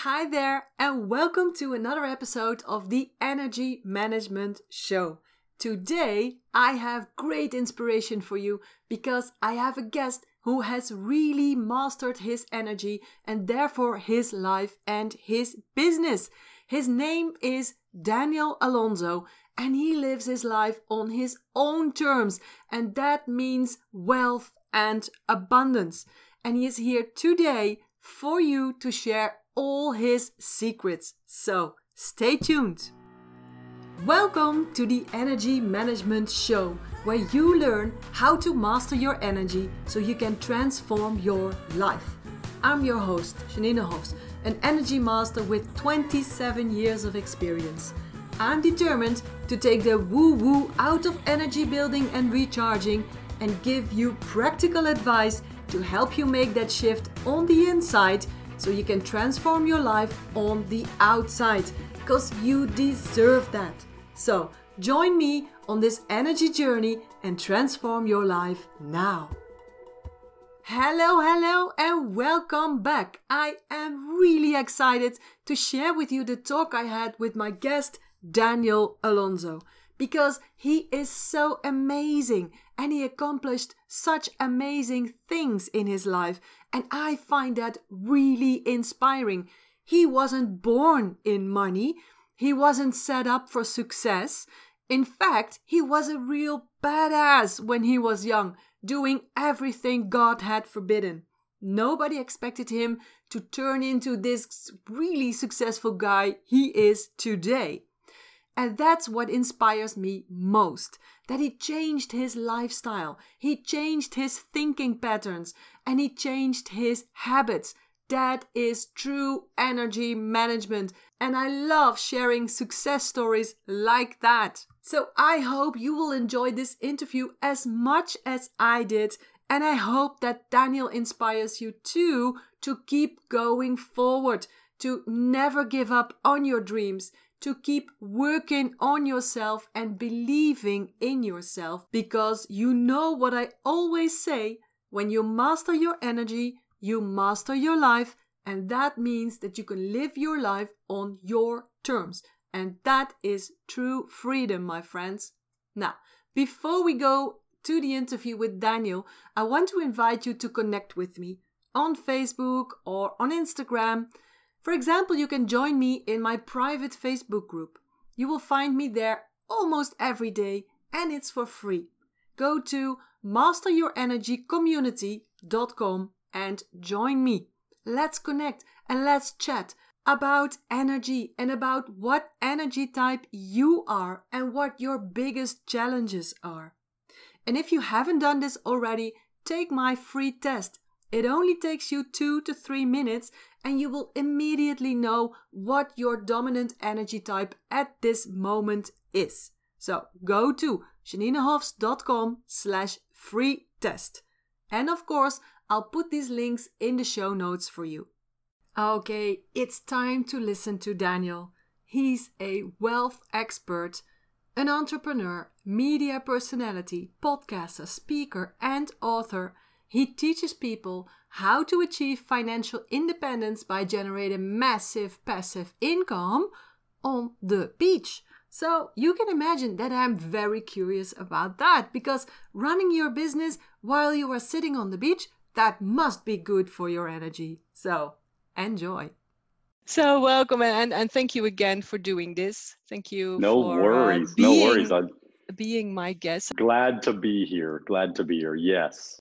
Hi there, and welcome to another episode of the Energy Management Show. Today, I have great inspiration for you because I have a guest who has really mastered his energy and therefore his life and his business. His name is Daniel Alonso, and he lives his life on his own terms, and that means wealth and abundance. And he is here today for you to share all his secrets. So stay tuned. Welcome to the Energy Management Show, where you learn how to master your energy so you can transform your life. I'm your host, Janine Hofs, an energy master with 27 years of experience. I'm determined to take the woo-woo out of energy building and recharging and give you practical advice to help you make that shift on the inside so you can transform your life on the outside, because you deserve that. So join me on this energy journey and transform your life now. Hello, and welcome back. I am really excited to share with you the talk I had with my guest, Daniel Alonso, because he is so amazing and he accomplished such amazing things in his life, and I find that really inspiring. He wasn't born in money. He wasn't set up for success. In fact, he was a real badass when he was young, doing everything God had forbidden. Nobody expected him to turn into this really successful guy he is today. And that's what inspires me most, that he changed his lifestyle, he changed his thinking patterns, and he changed his habits. That is true energy management, and I love sharing success stories like that. So I hope you will enjoy this interview as much as I did, and I hope that Daniel inspires you too to keep going forward, to never give up on your dreams, to keep working on yourself and believing in yourself, because you know what I always say, when you master your energy, you master your life, and that means that you can live your life on your terms. And that is true freedom, my friends. Now, before we go to the interview with Daniel, I want to invite you to connect with me on Facebook or on Instagram. For example, you can join me in my private Facebook group. You will find me there almost every day, and it's for free. Go to masteryourenergycommunity.com and join me. Let's connect and let's chat about energy and about what energy type you are and what your biggest challenges are. And if you haven't done this already, take my free test. It only takes you 2 to 3 minutes and you will immediately know what your dominant energy type at this moment is. So go to janinehofs.com/free test. And of course, I'll put these links in the show notes for you. Okay, it's time to listen to Daniel. He's a wealth expert, an entrepreneur, media personality, podcaster, speaker, and author. He teaches people how to achieve financial independence by generating massive passive income on the beach. So you can imagine that I'm very curious about that, because running your business while you are sitting on the beach, that must be good for your energy. So enjoy. So welcome and thank you again for doing this. Thank you for being my guest. Glad to be here. Yes.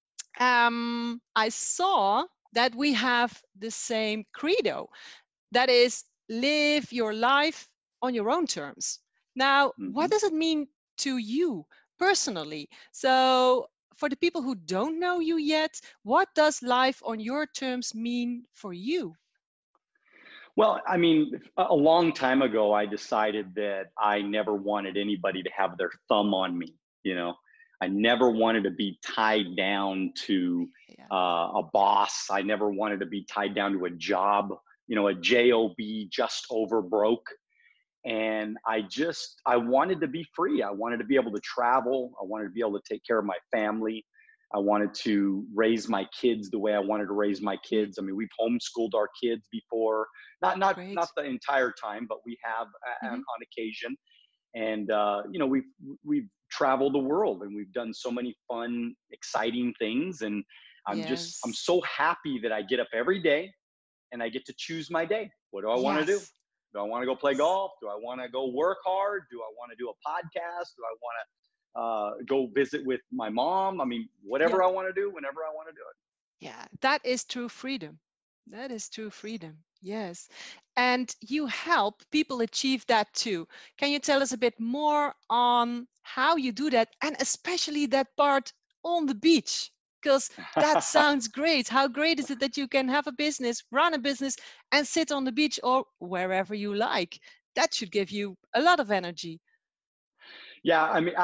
I saw that we have the same credo. That is, live your life on your own terms. Now, what does it mean to you personally? So, for the people who don't know you yet, what does life on your terms mean for you? Well, I mean, a long time ago, I decided that I never wanted anybody to have their thumb on me. I never wanted to be tied down to a boss. I never wanted to be tied down to a job, a job, just over broke. And I wanted to be free. I wanted to be able to travel. I wanted to be able to take care of my family. I wanted to raise my kids the way I wanted to raise my Mm, kids. I mean, we've homeschooled our kids before, not great. the entire time, but we have Hmm. on occasion. And we've traveled the world and we've done so many fun, exciting things. And I'm Yes. so happy that I get up every day and I get to choose my day. What do I want to do? Yes. Do I want to go play golf? Do I want to go work hard? Do I want to do a podcast? Do I want to go visit with my mom? I mean, Yeah. whatever I want to do, whenever I want to do it. Yeah. That is true freedom. That is true freedom. Yes. And you help people achieve that too. Can you tell us a bit more on how you do that and especially that part on the beach? Because that sounds great. How great is it that you can have a business, run a business, and sit on the beach or wherever you like? That should give you a lot of energy. Yeah, I mean,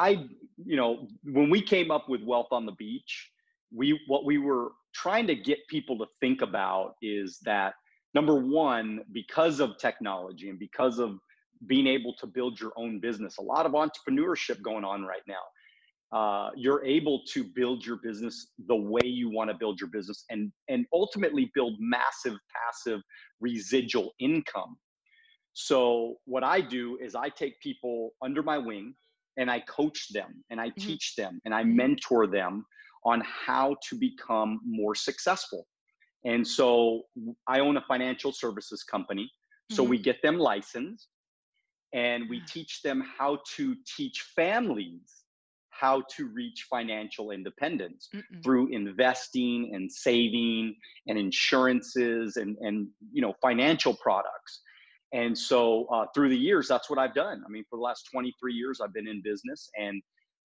when we came up with Wealth on the Beach, what we were trying to get people to think about is that number one, because of technology and because of being able to build your own business, a lot of entrepreneurship going on right now. You're able to build your business the way you want to build your business, and ultimately build massive passive residual income. So what I do is I take people under my wing and I coach them and I Hmm. teach them and I Hmm. mentor them on how to become more successful. And so I own a financial services company. So Hmm. we get them licensed and we teach them how to teach families how to reach financial independence Mm-mm. through investing and saving and insurances and financial products. And so through the years, that's what I've done. I mean, for the last 23 years, I've been in business, and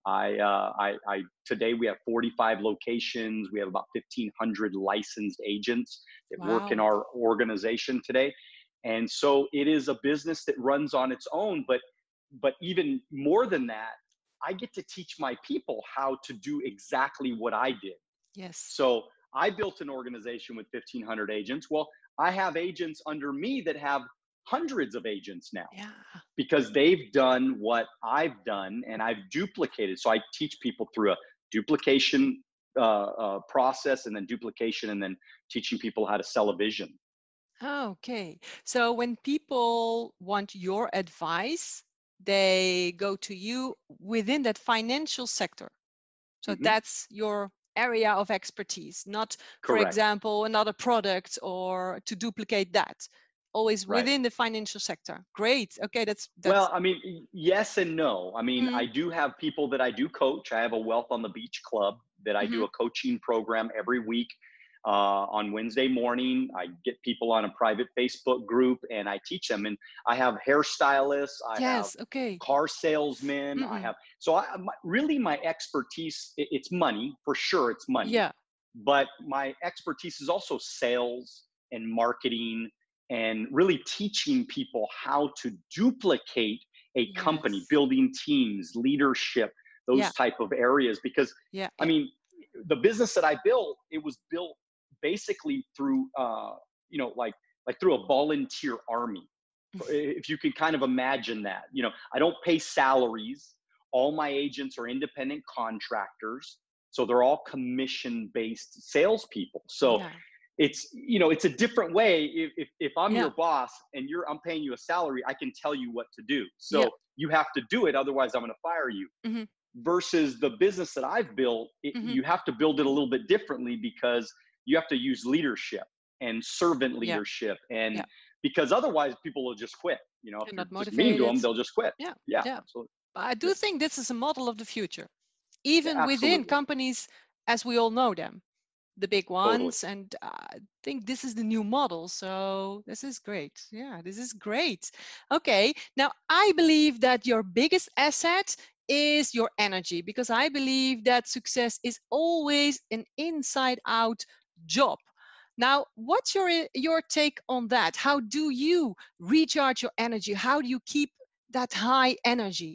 I today we have 45 locations. We have about 1,500 licensed agents that work in Wow. our organization today, and so it is a business that runs on its own. But even more than that, I get to teach my people how to do exactly what I did. Yes. So I built an organization with 1,500 agents. Well, I have agents under me that have hundreds of agents now Yeah. because they've done what I've done and I've duplicated. So I teach people through a duplication process, and then duplication, and then teaching people how to sell a vision. Okay. So when people want your advice, they go to you within that financial sector. So Hmm. that's your area of expertise, not, for Correct. example, another product or to duplicate that. Always Right. within the financial sector. Great. Okay, Well, that's I mean, yes and no. I mean, mm, I do have people that I do coach. I have a Wealth on the Beach club that I do hmm. a coaching program every week. On Wednesday morning, I get people on a private Facebook group and I teach them. And I have hairstylists, I have Yes, okay. car salesmen, I Mm-mm. have. So really, my expertise, it's money for sure. It's money, Yeah. but my expertise is also sales and marketing and really teaching people how to duplicate a company, Yes. building teams, leadership, Yeah. those type of areas. Because Yeah. I Yeah. mean, the business that I built, it was built basically through like through a volunteer army. If you can kind of imagine that. I don't pay salaries. All my agents are independent contractors, so they're all commission based salespeople. So Yeah. it's a different way. If I'm Yeah. your boss and I'm paying you a salary, I can tell you what to do. Yeah. So you have to do it, otherwise I'm going to fire you. Hmm. Versus the business that I've built, Hmm. you have to build it a little bit differently because you have to use leadership and servant Yeah. leadership, and Yeah. because otherwise people will just quit. If They're you're not just mean to motivated. them, they'll just quit. Yeah. Yeah, Yeah. absolutely. But I Yeah, do think this is a model of the future, yeah, even within absolutely. companies as we all know them, the big Totally. ones. And I think this is the new model. So this is great. Yeah, this is great. Okay. Now, I believe that your biggest asset is your energy because I believe that success is always an inside out job. Now, what's your take on that? How do you recharge your energy? How do you keep that high energy?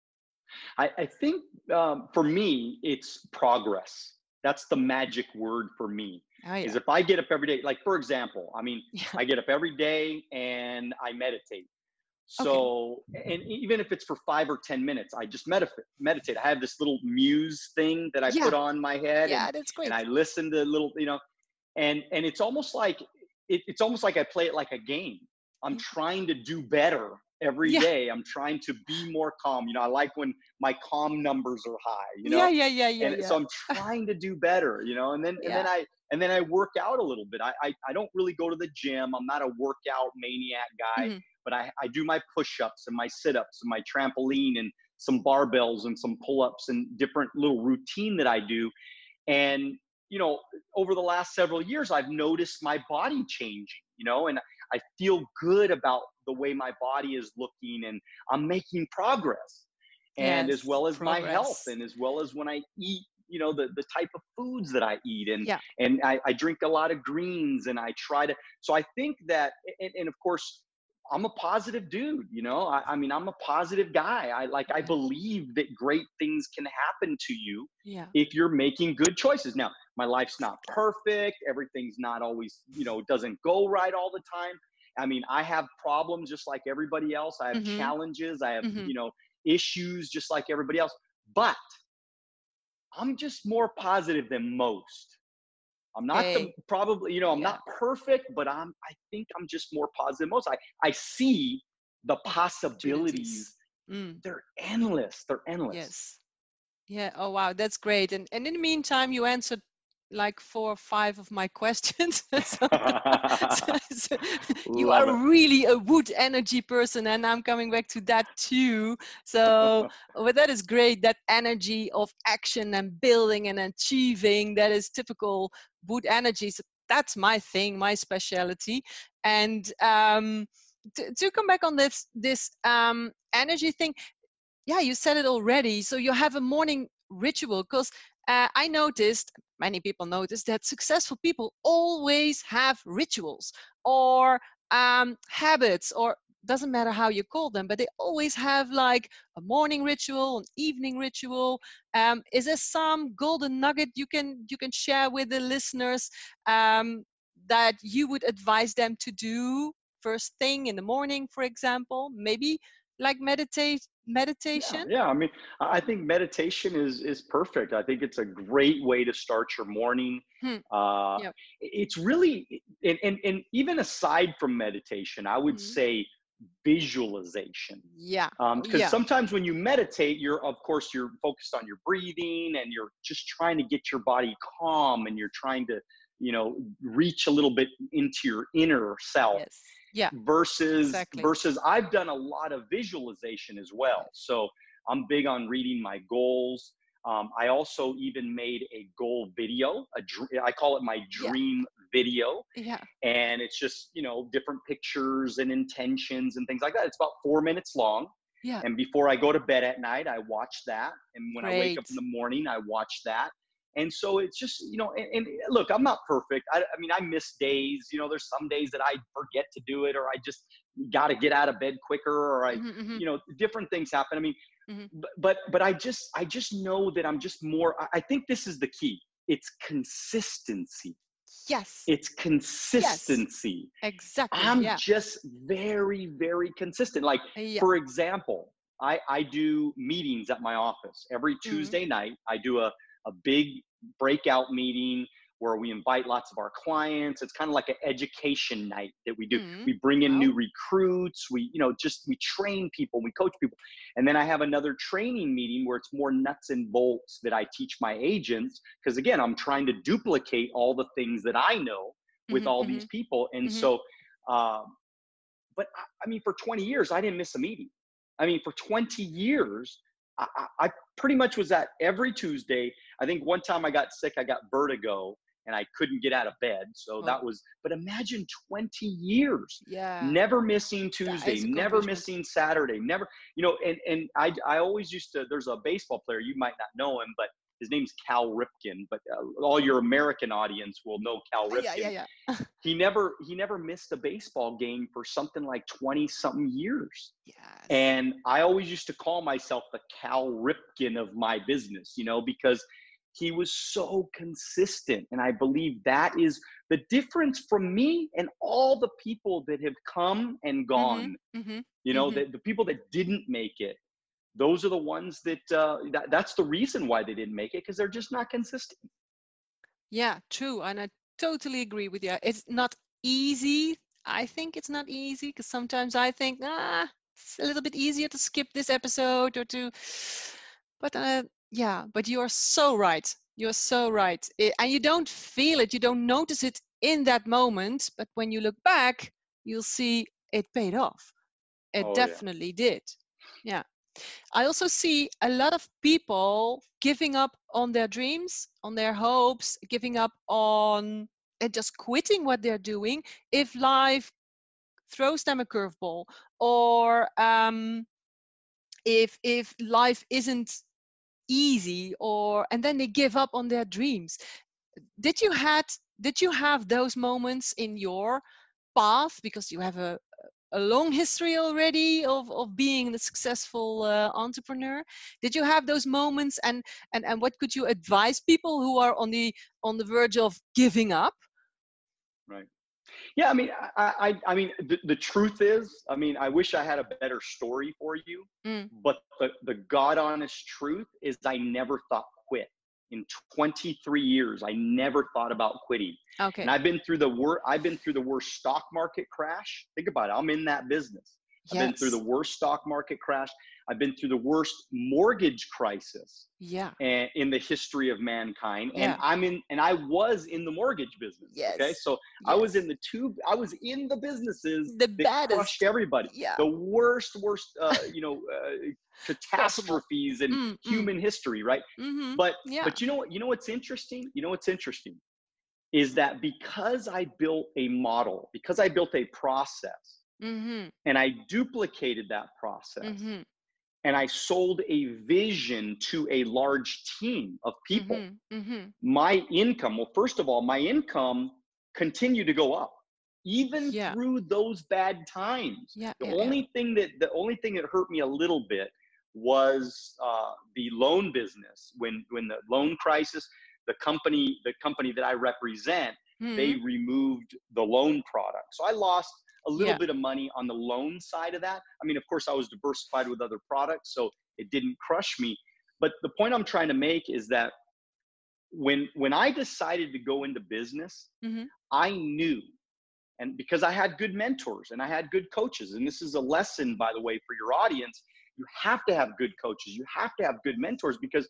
I think for me, it's progress. That's the magic word for me. Oh Is yeah. if I get up every day, like for example, I mean, Yeah. I get up every day and I meditate. Okay. So, and even if it's for 5 or 10 minutes, I just meditate. I have this little muse thing that I Yeah. put on my head, Yeah, that's and great. I listen to little, and it's almost like it's almost like I play it like a game. I'm Mm. trying to do better every Yeah. day. I'm trying to be more calm. I like when my calm numbers are high, Yeah, yeah, yeah, yeah, and so yeah. I'm trying to do better, Yeah. and then I work out a little bit. I don't really go to the gym. I'm not a workout maniac guy, Mhm. but I do my push-ups and my sit-ups and my trampoline and some barbells and some pull-ups and different little routine that I do. And over the last several years, I've noticed my body changing, and I feel good about the way my body is looking, and I'm making progress. And as Yes, well as my health, progress. and as well as when I eat, the type of foods that I eat, and Yeah. I drink a lot of greens, and I try to. So I think that, and of course, I'm a positive dude. I mean, I'm a positive guy. I Yeah. believe that great things can happen to you Yeah. if you're making good choices. Now, my life's not perfect. Everything's not always, doesn't go right all the time. I mean, I have problems just like everybody else. I have Mhm. challenges. I have, Mhm. issues just like everybody else. But I'm just more positive than most. I'm not the Hey. probably, I'm Yeah. not perfect, but I think I'm just more positive than most. I see the possibilities. Possibilities. Mm. They're endless. They're endless. Yes. Yeah. Oh wow, that's great. And in the meantime, you answered like 4 or 5 of my questions. so, so you Love are it. really a wood energy person, and I'm coming back to that too. So, but that is great. That energy of action and building and achieving, that is typical wood energy. So that's my thing, my specialty. And to come back on this energy thing, yeah, you said it already. So you have a morning ritual, because I noticed, many people noticed, that successful people always have rituals or habits, or doesn't matter how you call them, but they always have like a morning ritual, an evening ritual. Is there some golden nugget you can share with the listeners, that you would advise them to do first thing in the morning, for example? Maybe like Yeah, meditation. yeah. I mean, I think meditation is perfect. I think it's a great way to start your morning. Hmm. Uh, Yeah. it's really, and even aside from meditation, I would Mhm. say visualization. Yeah. Oh, Because yeah. sometimes when you meditate, of course, you're focused on your breathing, and you're just trying to get your body calm, and you're trying to, reach a little bit into your inner self, Yes. Yeah. Exactly. versus I've done a lot of visualization as well. Yes. So I'm big on reading my goals. I also even made a goal video. I call it my Yeah. dream video, Yeah. and it's just different pictures and intentions and things like that. It's about 4 minutes long. Yeah. And before I go to bed at night, I watch that, and when I wake up in Great. the morning, I watch that. And so it's just, and look, I'm not perfect. I mean, I miss days. There's some days that I forget to do it, or I just got to get out of bed quicker, or Mhm. Mhm. different things happen. I mean, Mhm. but I just know that I'm just more. I think this is the key. It's consistency. Yes. It's Yes. consistency. Exactly. I'm Yeah. just very, very consistent. Like, Yeah. for example, I do meetings at my office every Mhm. Tuesday night. I do a big breakout meeting where we invite lots of our clients. It's kind of like an education night that we do. Mhm. We bring in Wow. new recruits. We train people, we coach people. And then I have another training meeting where it's more nuts and bolts that I teach my agents. Because again, I'm trying to duplicate all the things that I know with Mhm. all these Mhm. people. And Mhm. so, but I mean, for 20 years, I didn't miss a meeting. I mean, for 20 years, I pretty much was at every Tuesday. I think one time I got sick, I got vertigo, and I couldn't get out of bed. So Oh. but imagine 20 years, Yeah. never missing That Tuesday, is a never accomplishment. missing Saturday, never, and I always used to, there's a baseball player, you might not know him, but his name's Cal Ripken, but all your American audience will know Cal Yeah. Yeah. Ripken. Yeah. He never missed a baseball game for something like 20 something years. Yes. And I always used to call myself the Cal Ripken of my business, because he was so consistent. And I believe that is the difference from me and all the people that have come and Mm-hmm. gone. Mm-hmm. You know, Mm-hmm. the people that didn't make it, those are the ones that's the reason why they didn't make it, because they're just not consistent. Yeah, true. And I totally agree with you. It's not easy. I think it's not easy because sometimes I think, it's a little bit easier to skip this episode or to, but yeah, but you're so right. You're so right. And you don't feel it, you don't notice it in that moment. But when you look back, you'll see it paid off. It Oh yeah. definitely did. Yeah. I also see a lot of people giving up on their dreams, on their hopes, giving up on and just quitting what they're doing if life throws them a curveball, or if life isn't easy, or and then they give up on their dreams. Did you have those moments in your path, because you have a long history already of being a successful entrepreneur? Did you have those moments, and what could you advise people who are on the verge of giving up? Right. Yeah, I mean, I mean, the truth is, I mean, I wish I had a better story for you, Mm, but the God honest truth is, I never thought quit. In 23 years, I never thought about quitting. And okay. I've been through the worst stock market crash. Think about it. I'm in that business. I've been through the Yes. worst stock market crash. I've been through the worst mortgage crisis Yeah. in the history of mankind. And Yeah. I was in the mortgage business. Okay. Yes. So I was Yes. I was in the businesses The that crushed baddest. everybody. Yeah. The worst, Possible. catastrophes in human history. Right. Mm-hmm. But, Yeah. you know what's interesting? You know what's interesting is that because I built a model, because I built a process, Mm-hmm. and I duplicated that process, Mm-hmm. and I sold a vision to a large team of people, Mm-hmm. Mm-hmm. my income, well, first of all, my income continued to go up even Yeah. through those bad times. Yeah. The Yeah. Yeah. only thing that hurt me a little bit was the loan business. When the loan crisis, the company that I represent, they Mm-hmm. removed the loan product. So I lost a little Yeah. bit of money on the loan side of that. I mean, of course, I was diversified with other products, so it didn't crush me. But the point I'm trying to make is that when I decided to go into business, Mm-hmm. I knew, and because I had good mentors and I had good coaches, and this is a lesson, by the way, for your audience, you have to have good coaches, you have to have good mentors, because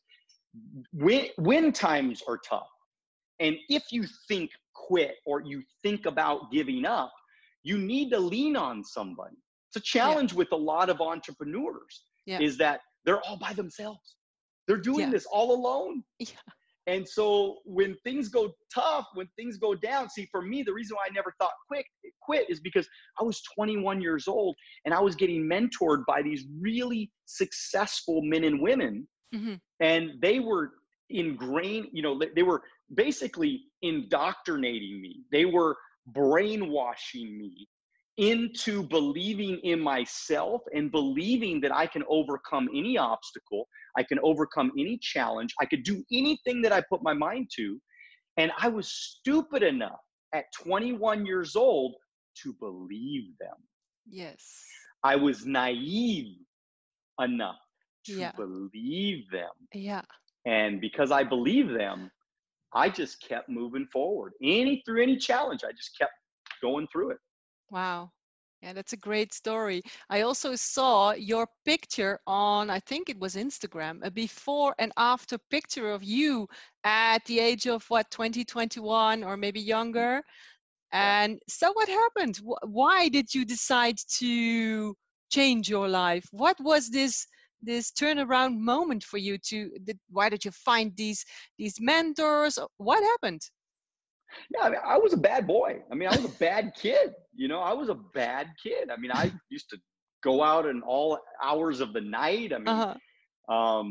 when times are tough, and if you think quit or you think about giving up, you need to lean on somebody. It's a Yeah. challenge with a lot of entrepreneurs, Yeah. is that they're all by themselves. They're doing Yeah. this all alone. Yeah. And so when things go tough, when things go down, see, for me, the reason why I never thought quit is because I was 21 years old and I was getting mentored by these really successful men and women. Mm-hmm. And they were ingrained, they were basically indoctrinating me. They were brainwashing me into believing in myself and believing that I can overcome any obstacle, I can overcome any challenge, I could do anything that I put my mind to. And I was stupid enough at 21 years old to believe them. Yes. I was naive enough to Yeah. believe them. Yeah. And because I believed them, I just kept moving forward. Through any challenge, I just kept going through it. Wow. Yeah, that's a great story. I also saw your picture on, I think it was Instagram, a before and after picture of you at the age of 2021 or maybe younger. Yeah. And so what happened? Why did you decide to change your life? What was this turnaround moment for you why did you find these mentors? What happened? Yeah, I mean, I was a bad boy. I mean, I was a bad kid. I was a bad kid. I mean, I used to go out in all hours of the night. I mean, Uh-huh.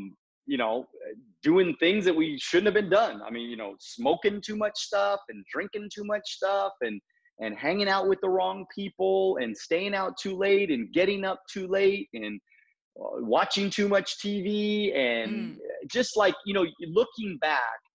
doing things that we shouldn't have been done. I mean, smoking too much stuff and drinking too much stuff and hanging out with the wrong people and staying out too late and getting up too late and watching too much TV. And Mm. just like, looking back,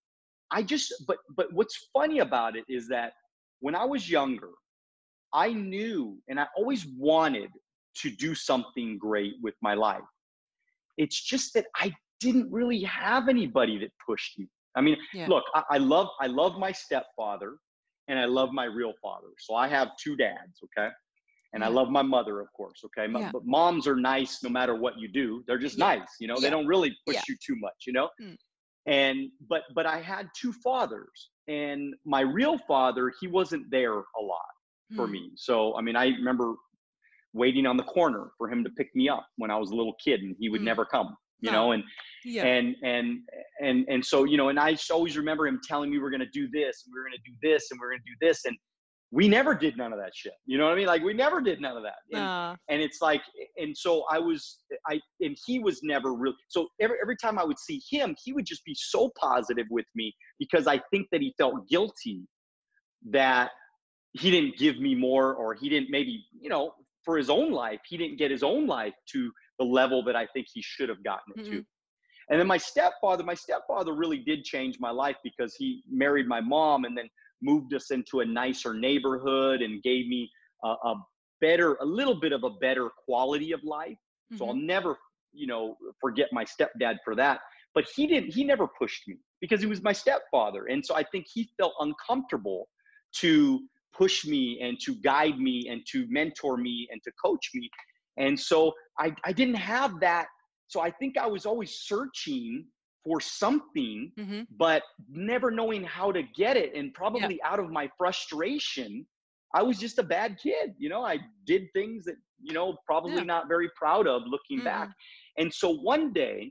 but what's funny about it is that when I was younger, I knew and I always wanted to do something great with my life. It's just that I didn't really have anybody that pushed me. I mean, Yeah. look, I love my stepfather and I love my real father. So I have two dads, okay? And I Yeah. love my mother, of course, okay? Yeah. But moms are nice no matter what you do. They're just Yeah. nice, you know? They Yeah. don't really push Yeah. you too much, you know? Mm. And but I had two fathers, and my real father, he wasn't there a lot for Mm. me. So I mean, I remember waiting on the corner for him to pick me up when I was a little kid, and he would Mm. never come, you know. No. And Yeah. and and and so, you know, and I always remember him telling me we're going to do this, and we're going to do this, and we're going to do this, and we never did none of that shit. You know what I mean? Like we never did none of that. Uh, And it's like, and so and he was never really, so every time I would see him, he would just be so positive with me because I think that he felt guilty that he didn't give me more, or he didn't maybe, you know, for his own life, he didn't get his own life to the level that I think he should have gotten it to. mm-mm. And then my stepfather really did change my life because he married my mom and then moved us into a nicer neighborhood and gave me a little bit of a better quality of life. So I'll Mm-hmm. never, you know, forget my stepdad for that. But he never pushed me because he was my stepfather. And so I think he felt uncomfortable to push me and to guide me and to mentor me and to coach me. And so I didn't have that. So I think I was always searching for something, Mm-hmm. but never knowing how to get it. And Yeah. probably out of my frustration, I was just a bad kid. You know, I did things that, you know, probably Yeah. not very proud of looking back. Mm-mm. And so one day,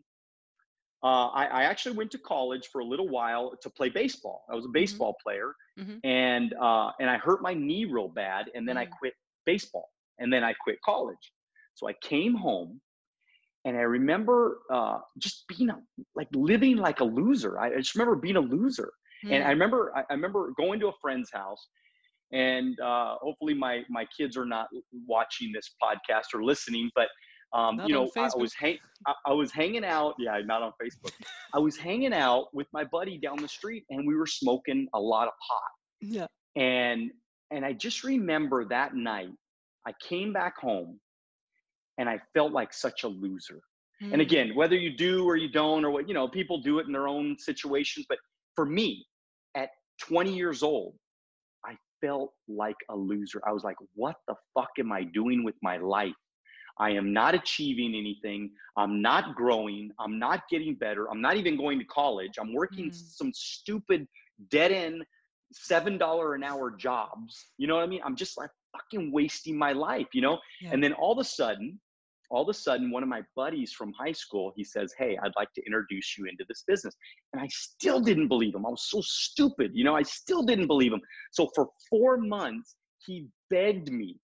I actually went to college for a little while to play baseball. I was a Mm-hmm. baseball player, Mm-hmm. and I hurt my knee real bad, and then I Mm. quit baseball, and then I quit college. So I came home, and I remember just being like living like a loser. I just remember being a loser, and I Mm. remember going to a friend's house, and hopefully my kids are not watching this podcast or listening, but Not you on know, Facebook. I was hanging out. Yeah, not on Facebook. I was hanging out with my buddy down the street, and we were smoking a lot of pot. Yeah. And I just remember that night, I came back home, and I felt like such a loser. And Mm. again, whether you do or you don't, or what, you know, people do it in their own situations. But for me, at 20 years old, I felt like a loser. I was like, what the fuck am I doing with my life? I am not achieving anything. I'm not growing. I'm not getting better. I'm not even going to college. I'm working Mm. some stupid dead end $7 an hour jobs. You know what I mean? I'm just like fucking wasting my life, you know? Yeah. And then all of a sudden, one of my buddies from high school, he says, hey, I'd like to introduce you into this business. And I still didn't believe him. I was so stupid. You know, I still didn't believe him. So for 4 months, he begged me.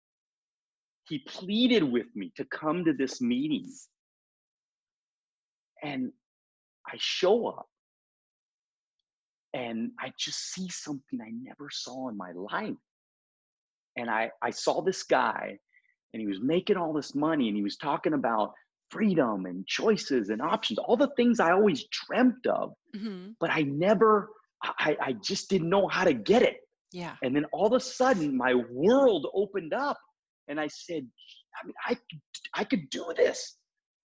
He pleaded with me to come to this meeting. And I show up and I just see something I never saw in my life. And I saw this guy, and he was making all this money, and he was talking about freedom and choices and options, all the things I always dreamt of, Mm-hmm. but I just didn't know how to get it. Yeah. And then all of a sudden, my world opened up, and I said, I mean, I could do this.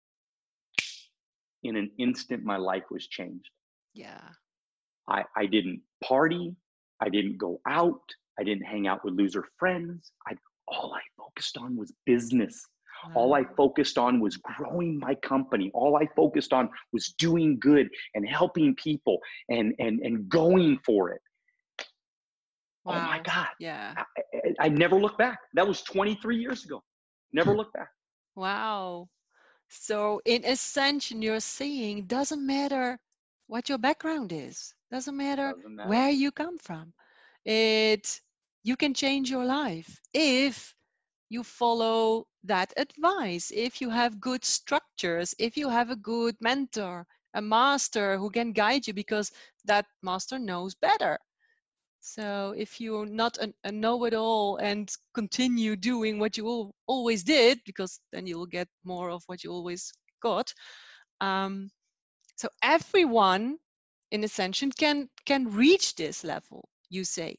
In an instant, my life was changed. Yeah. I didn't party. I didn't go out. I didn't hang out with loser friends. All I focused on was business. All I Wow. focused on was growing my company. All I focused on was doing good and helping people and going for it. Oh my Wow. God. Yeah. I never looked back. That was 23 years ago. Never looked back. Wow. So in ascension, you're saying doesn't matter what your background is, doesn't matter Doesn't matter. where you come from. You can change your life if you follow that advice, if you have good structures, if you have a good mentor, a master who can guide you because that master knows better. So if you're not a know-it-all and continue doing what you always did, because then you'll get more of what you always got. So everyone in Ascension can reach this level, you say?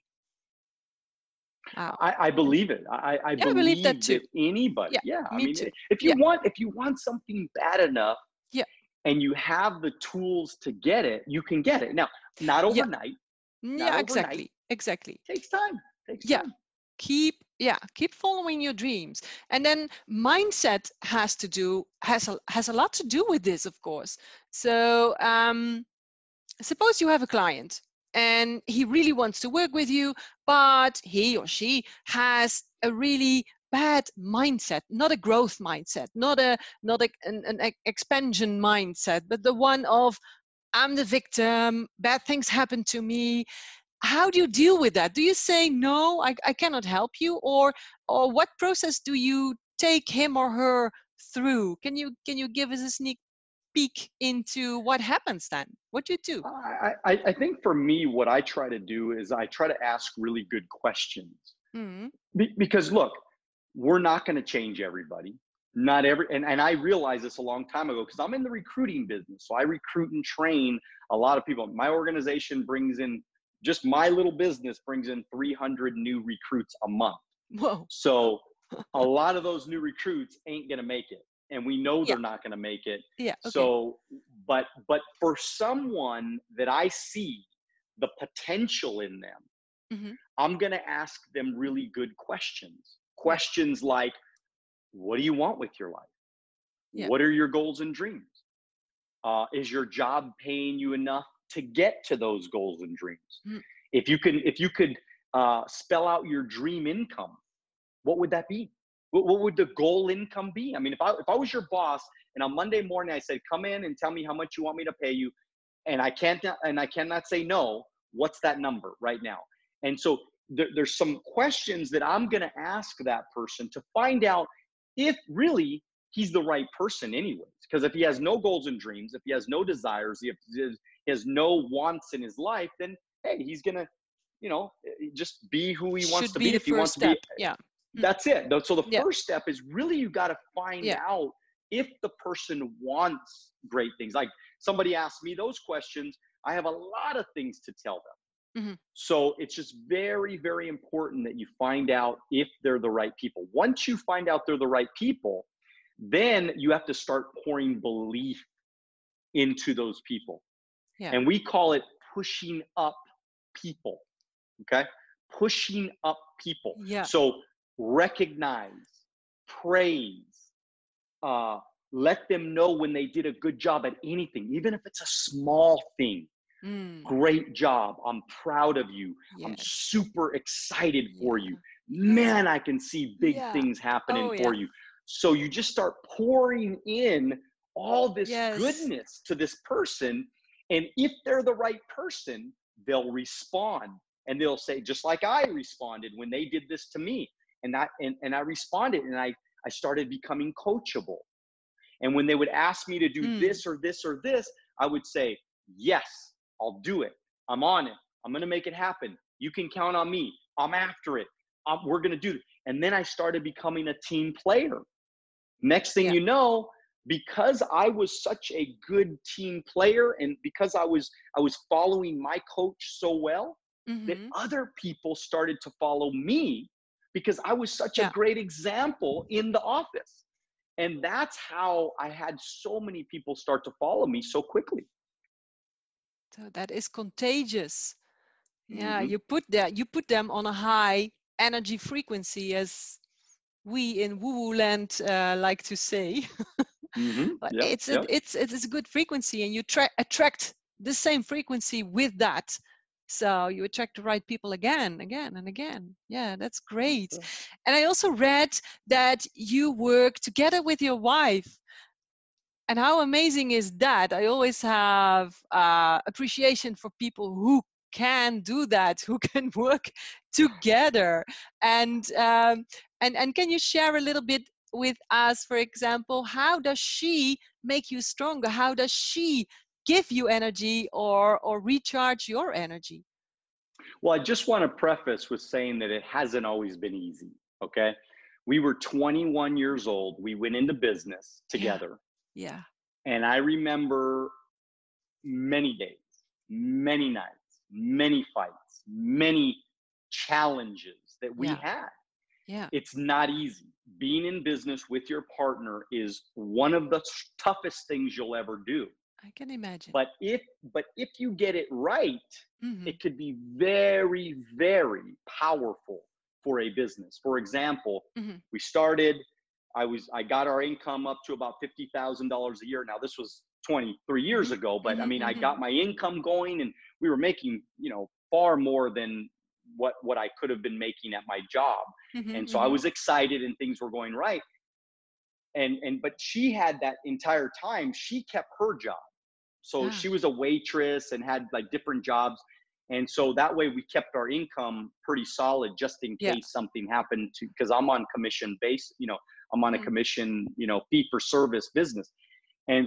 Wow. I believe it. I Yeah, I believe that believe too. that anybody, Yeah, yeah. I me mean, too. if Yeah, you want something bad enough yeah, and you have the tools to get it, you can get it. Now, not yeah, overnight, not yeah, overnight. exactly. Takes time. Takes Yeah, time. keep following your dreams. And then mindset has a lot to do with this, of course. So suppose you have a client and he really wants to work with you, but he or she has a really bad mindset, not a growth mindset, not an expansion mindset, but the one of I'm the victim, bad things happen to me. How do you deal with that? Do you say no, I cannot help you, or what process do you take him or her through? Can you give us a sneak peek into what happens then? What do you do? I think for me, what I try to do is I try to ask really good questions. Mm, Because look, we're not going to change everybody. Not every, and I realized this a long time ago because I'm in the recruiting business. So I recruit and train a lot of people. My organization brings in, just my little business brings in 300 new recruits a month. whoa. So a lot of those new recruits ain't going to make it. And we know Yeah, they're not going to make it. yeah, okay. So, but for someone that I see the potential in them, Hmm. I'm going to ask them really good questions. Yeah, Questions like, what do you want with your life? yeah. What are your goals and dreams? Is your job paying you enough to get to those goals and dreams? Mm, If you could spell out your dream income, what would that be? What would the goal income be? I mean, if I was your boss and on Monday morning I said, come in and tell me how much you want me to pay you, and I cannot say no, what's that number right now? And so there's some questions that I'm going to ask that person to find out if really he's the right person anyways. Because if he has no goals and dreams, if he has no desires, if he has no wants in his life, then hey, he's going to, just be who he wants should to be be. the If he first wants to be, step. Yeah. Mm, that's it. So the yeah, first step is really you got to find yeah. out if the person wants great things. Like somebody asked me those questions, I have a lot of things to tell them. Hmm. So it's just very, very important that you find out if they're the right people. Once you find out they're the right people, then you have to start pouring belief into those people. Yeah, And we call it pushing up people. Okay. Pushing up people. yeah. So recognize, praise, uh, let them know when they did a good job at anything, even if it's a small thing. Mm, Great job. I'm proud of you. I'm yes. super excited for Yeah. you. Yeah. Man, I can see big Yeah. things happening Oh for yeah. you. So you just start pouring in all this Yes. goodness to this person. And if they're the right person, they'll respond and they'll say, just like I responded when they did this to me. And I responded and I started becoming coachable. And when they would ask me to do Mm, this or this or this, I would say, yes, I'll do it. I'm on it. I'm going to make it happen. You can count on me. I'm after it. We're going to do it. And then I started becoming a team player. Next thing yeah. you know, because I was such a good team player and because I was following my coach so well, that Hmm. other people started to follow me because I was such a Yeah. great example in the office. And that's how I had so many people start to follow me so quickly. So that is contagious. Yeah, Hmm. you put them on a high energy frequency, as we in woo-woo land like to say. Hmm. But Yep. Yep. it's a good frequency, and you attract the same frequency with that. So you attract the right people again, again, and again. Yeah, that's great. And I also read that you work together with your wife. And how amazing is that? I always have appreciation for people who can do that, who can work together. And can you share a little bit with us, for example, how does she make you stronger? How does she give you energy or recharge your energy? Well, I just want to preface with saying that it hasn't always been easy. Okay. We were 21 years old. We went into business Yeah, together. yeah, And I remember many days, many nights, many fights, many challenges that we Yeah. had. Yeah. It's not easy. Being in business with your partner is one of the toughest things you'll ever do. I can imagine. But if you get it right, Mm-hmm. it could be very, very powerful for a business. For example, Mm-hmm. we started, I got our income up to about $50,000 a year. Now this was 23 years Mm-hmm. ago, but I mean, I Mm-hmm. got my income going and we were making, far more than what I could have been making at my job. Mm-hmm. And so I was excited and things were going right. But she had that entire time, she kept her job. So she was a waitress and had like different jobs. And so that way we kept our income pretty solid just in Yeah. case something happened to, because I'm on commission base, I'm on a Mm. commission, fee for service business. And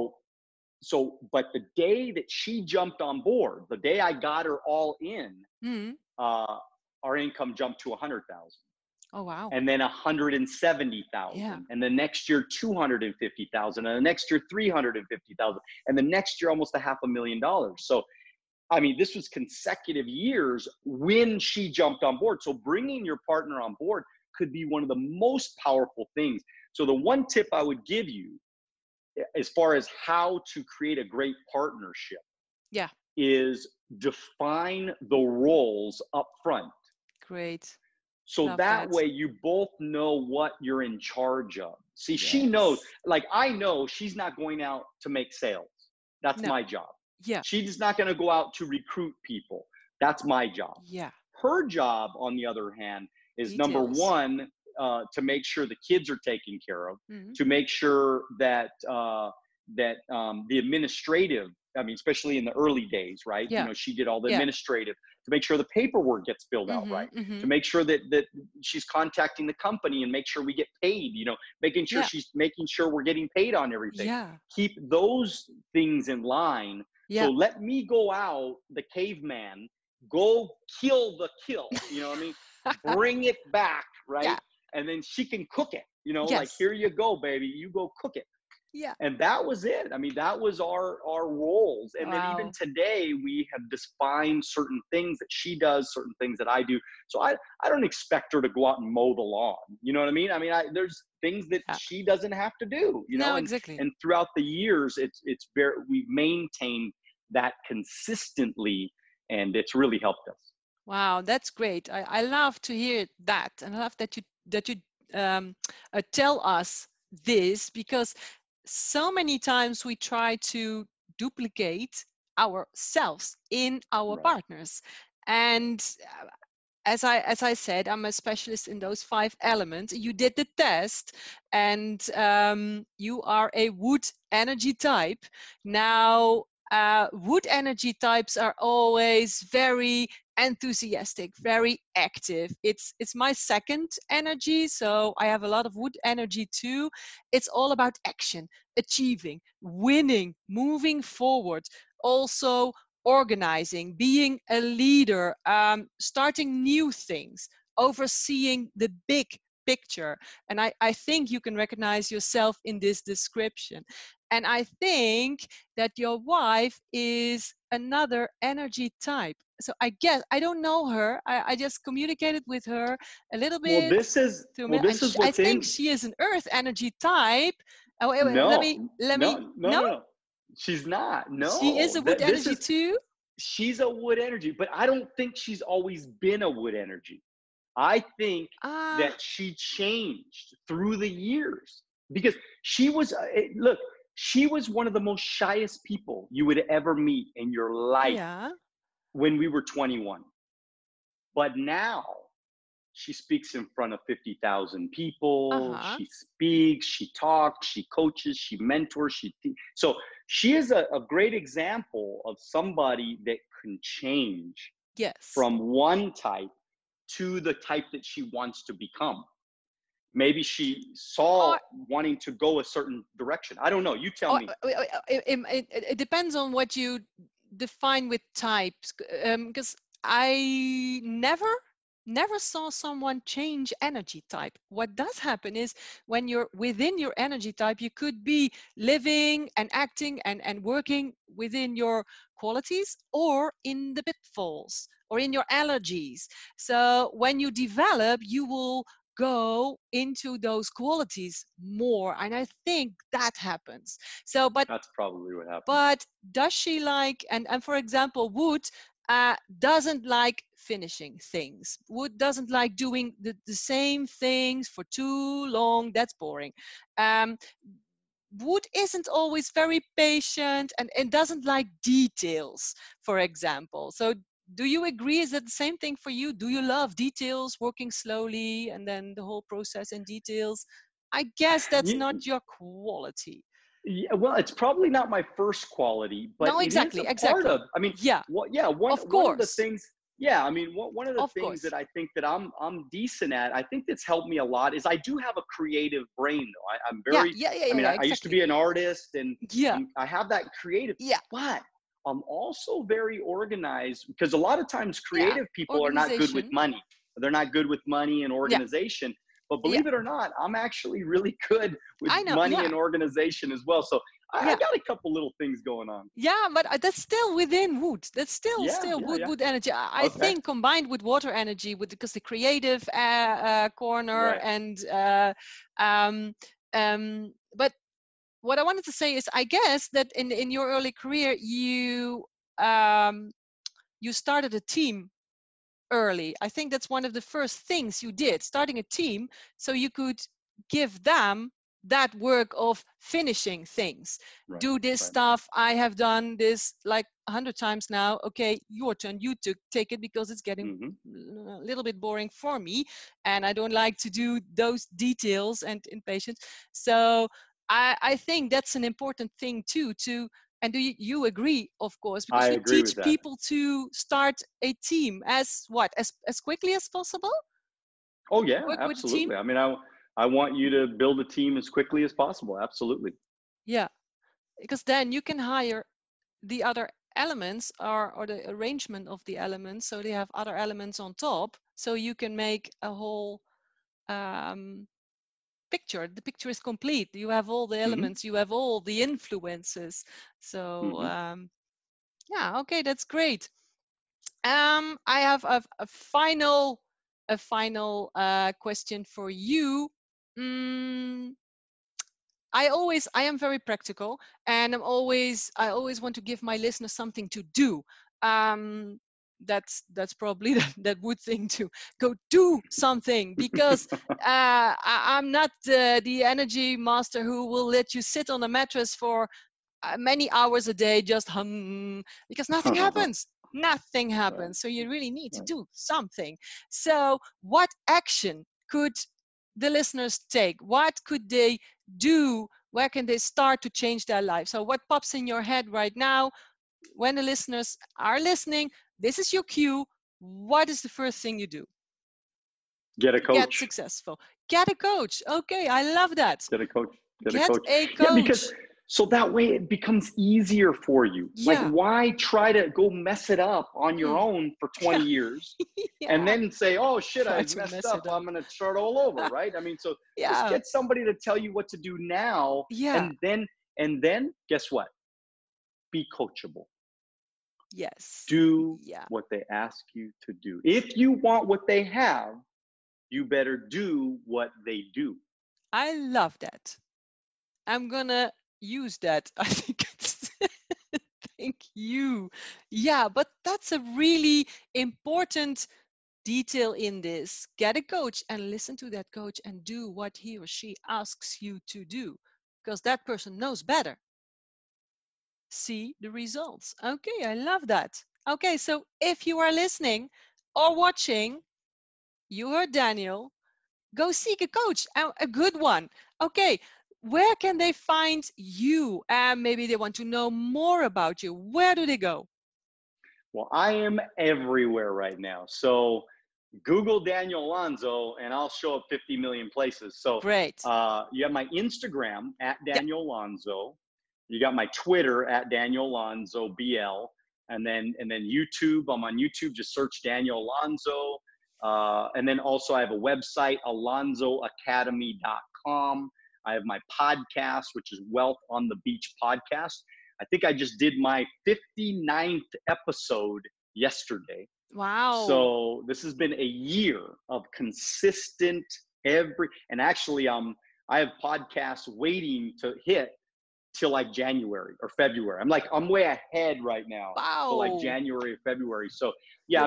but the day that she jumped on board, the day I got her all in, Mm. our income jumped to 100,000. Oh wow. And then 170,000, Yeah. and the next year 250,000, and the next year 350,000, and the next year almost $500,000. So, I mean, this was consecutive years when she jumped on board. So, bringing your partner on board could be one of the most powerful things. So, the one tip I would give you, as far as how to create a great partnership, Yeah. is define the roles up front. Great. So Love that that. way you both know what you're in charge of. See, she Yes. knows, like I know she's not going out to make sales. That's No. my job. Yeah. She's not going to go out to recruit people. That's my job. Yeah. Her job, on the other hand, is number Details. one, to make sure the kids are taken care of, Mhm. to make sure that the administrative, I mean, especially in the early days, right? Yeah. She did all the Yeah. administrative, to make sure the paperwork gets filled out right, Mhm. to make sure that she's contacting the company and make sure we get paid, making sure Yeah. she's making sure we're getting paid on everything. Yeah. Keep those things in line. Yeah. So let me go out, the caveman, go kill the kill, you know what I mean? Bring it back, right? Yeah. And then she can cook it, like, Yes. here you go, baby, you go cook it. Yeah. And that was it. I mean, that was our roles. And then even Wow. today, we have defined certain things that she does, certain things that I do. So I don't expect her to go out and mow the lawn. You know what I mean? I mean, there's things that Yeah. she doesn't have to do. No, exactly. And throughout the years, we've maintained that consistently, and it's really helped us. Wow, that's great. I love to hear that, and I love that you tell us this, because so many times we try to duplicate ourselves in our Right. partners, and as I said, I'm a specialist in those 5 elements. You did the test, and you are a wood energy type. Now, wood energy types are always very enthusiastic, very active. It's my second energy, so I have a lot of wood energy too. It's all about action, achieving, winning, moving forward. Also organizing, being a leader, starting new things, overseeing the big picture. And I think you can recognize yourself in this description. And I think that your wife is another energy type. So I guess I don't know her. I just communicated with her a little bit. Well, this is and what's I think she is an earth energy type. Oh, wait, let me. No. She's not. No. She is a wood energy too. She's a wood energy, but I don't think she's always been a wood energy. I think that she changed through the years, because she was she was one of the most shyest people you would ever meet in your life when we were 21. But now she speaks in front of 50,000 people. She speaks, she talks, she coaches, she mentors. So she is a great example of somebody that can change from one type to the type that she wants to become. Maybe she saw wanting to go a certain direction. I don't know. You tell me. It depends on what you define with types, because I never never saw someone change energy type. What does happen is when you're within your energy type, you could be living and acting and working within your qualities or in the pitfalls or in your allergies. So when you develop, you will go into those qualities more. And I think that happens. So, That's probably what happens. but does she like, and for example, Wood doesn't like finishing things. Wood doesn't like doing the same things for too long. That's boring. Um, Wood isn't always very patient and doesn't like details, for example. So do you agree? Is that the same thing for you? Do you love details, working slowly, and then the whole process in details? I guess that's You, not your quality. yeah, well, it's probably not my first quality, but No, it is a exactly, part exactly. of. I mean, Yeah, what? Yeah, of one of the course, things. Yeah, I mean, one of the of things that course. I think that I'm decent at. I think that's helped me a lot is I do have a creative brain, though. I'm Yeah, very. yeah, yeah, I yeah, mean, yeah, I used to exactly. be an artist, and Yeah, I have that creative, yeah, but I'm also very organized because a lot of times yeah. creative people are not good with Organization. money. They're not good with money and Yeah, organization. But yeah. believe it or not, I'm actually really good with I know. money Yeah, and organization as well. So I yeah. got a couple little things going on. Yeah, but that's still within wood. That's Yeah, still yeah, wood yeah. wood energy. I Okay. think combined with water energy, with because the creative corner Right. and but what I wanted to say is, I guess that in your early career, um, you started a team early. I think that's one of the first things you did, starting a team so you could give them that work of finishing things. Right. Do this Right. stuff. I have done this like 100 times now. Okay, your turn. You take it because it's getting Mm-hmm. a little bit boring for me, and I don't like to do those details and impatience. So I think that's an important thing too, to and do you agree, of course, I because you agree teach with that. people to start a team as what? As quickly as possible? Oh yeah, Work with a team? absolutely. I mean, I want you to build a team as quickly as possible. Absolutely. Yeah. Because then you can hire the other elements or the arrangement of the elements, so they have other elements on top, so you can make a whole um, picture. The picture is complete. You have all the Mm-hmm. elements, you have all the influences. So Mm-hmm. yeah, okay, that's great. I have a final question for you. Mm, I am very practical, and I always want to give my listeners something to do. Um, that's probably that would thing to go do something, because I'm not the energy master who will let you sit on a mattress for many hours a day just because nothing happens. Nothing Right. happens. So you really need to Right. do something. So what action could the listeners take? What could they do? Where can they start to change their life? So what pops in your head right now when the listeners are listening? This is your cue. What is the first thing you do Get a to get coach. successful? Get a coach. Okay, I love that. Get a coach. Get a Get coach. a Yeah, because coach. so that way it becomes easier for you. Like, Yeah. why try to go mess it up on your Mm. own for 20 years and Yeah. then say, oh shit, Try I to messed mess up. it I'm up. going to start all over. Right. I mean, so just Yeah. get somebody to tell you what to do now. Yeah. And then guess what? Be coachable. Yes. Do Yeah. what they ask you to do. If you want what they have, you better do what they do. I love that. I'm gonna use that. I think it's thank you. Yeah, but that's a really important detail in this. Get a coach and listen to that coach and do what he or she asks you to do, because that person knows better. See the results. Okay, I love that. Okay, so if you are listening or watching, you heard Daniel, go seek a coach, a good one. Okay, where can they find you? And maybe they want to know more about you. Where do they go? Well, I am everywhere right now. So Google Daniel Alonso and I'll show up 50 million places. So Great. you have my Instagram at Yeah, Daniel Alonso. You got my Twitter at Daniel Alonso BL. And then YouTube. I'm on YouTube. Just search Daniel Alonso. And then also I have a website, alonzoacademy.com. I have my podcast, which is Wealth on the Beach podcast. I think I just did my 59th episode yesterday. Wow. So this has been a year of consistent and actually I have podcasts waiting to hit till like January or February. I'm way ahead right now. Wow. Till like January or February. So yeah,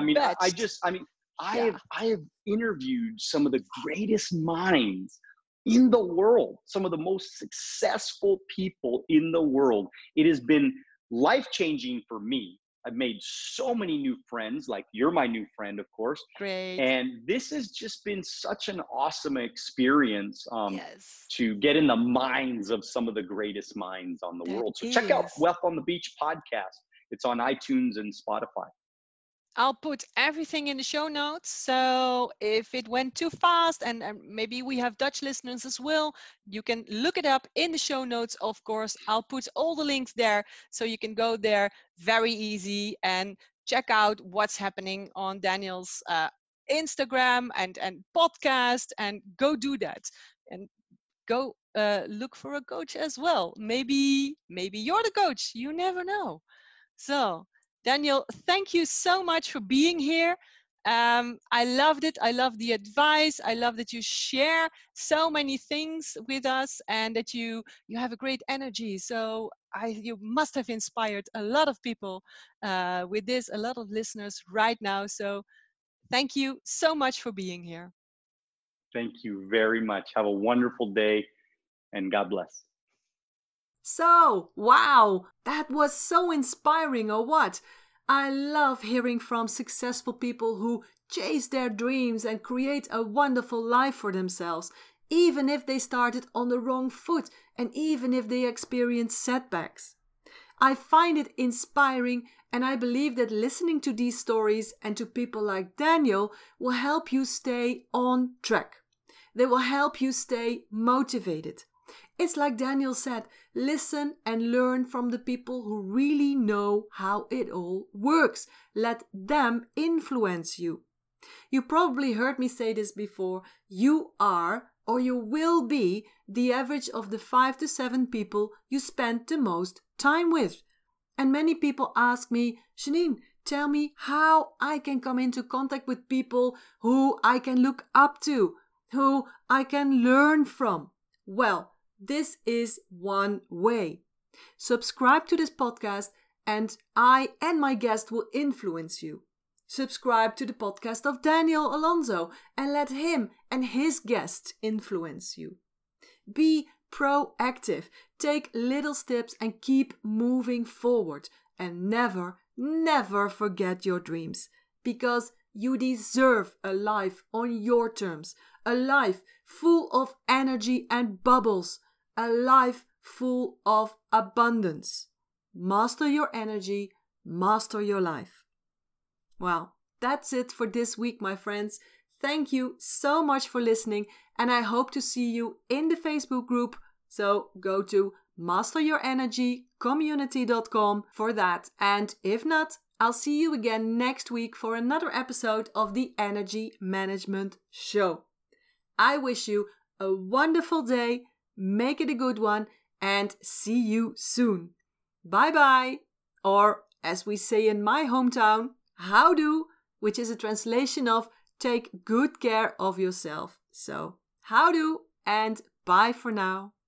I have interviewed some of the greatest minds in the world, some of the most successful people in the world. It has been life-changing for me. I've made so many new friends, like you're my new friend, of course. Great. And this has just been such an awesome experience Yes. to get in the minds of some of the greatest minds on the world. So check out Wealth on the Beach podcast. It's on iTunes and Spotify. I'll put everything in the show notes. So if it went too fast, and maybe we have Dutch listeners as well, you can look it up in the show notes, of course. I'll put all the links there so you can go there very easy and check out what's happening on Daniel's Instagram and podcast, and go do that. And go look for a coach as well. Maybe you're the coach. You never know. So Daniel, thank you so much for being here. I loved it. I love the advice. I love that you share so many things with us, and that you have a great energy. So you must have inspired a lot of people with this, a lot of listeners right now. So thank you so much for being here. Thank you very much. Have a wonderful day, and God bless. So, wow, that was so inspiring, or what? I love hearing from successful people who chase their dreams and create a wonderful life for themselves, even if they started on the wrong foot and even if they experience setbacks. I find it inspiring, and I believe that listening to these stories and to people like Daniel will help you stay on track. They will help you stay motivated. It's like Daniel said, listen and learn from the people who really know how it all works. Let them influence you. You probably heard me say this before. You are, or you will be, the average of the 5 to 7 people you spend the most time with. And many people ask me, Janine, tell me how I can come into contact with people who I can look up to, who I can learn from. Well, this is one way. Subscribe to this podcast, and I and my guest will influence you. Subscribe to the podcast of Daniel Alonzo and let him and his guests influence you. Be proactive, take little steps and keep moving forward, and never, never forget your dreams, because you deserve a life on your terms, a life full of energy and bubbles, a life full of abundance. Master your energy, master your life. Well, that's it for this week, my friends. Thank you so much for listening, and I hope to see you in the Facebook group. So go to masteryourenergycommunity.com for that. And if not, I'll see you again next week for another episode of the Energy Management Show. I wish you a wonderful day. Make it a good one, and see you soon. Bye-bye. Or, as we say in my hometown, howdo, which is a translation of take good care of yourself. So, howdo and bye for now.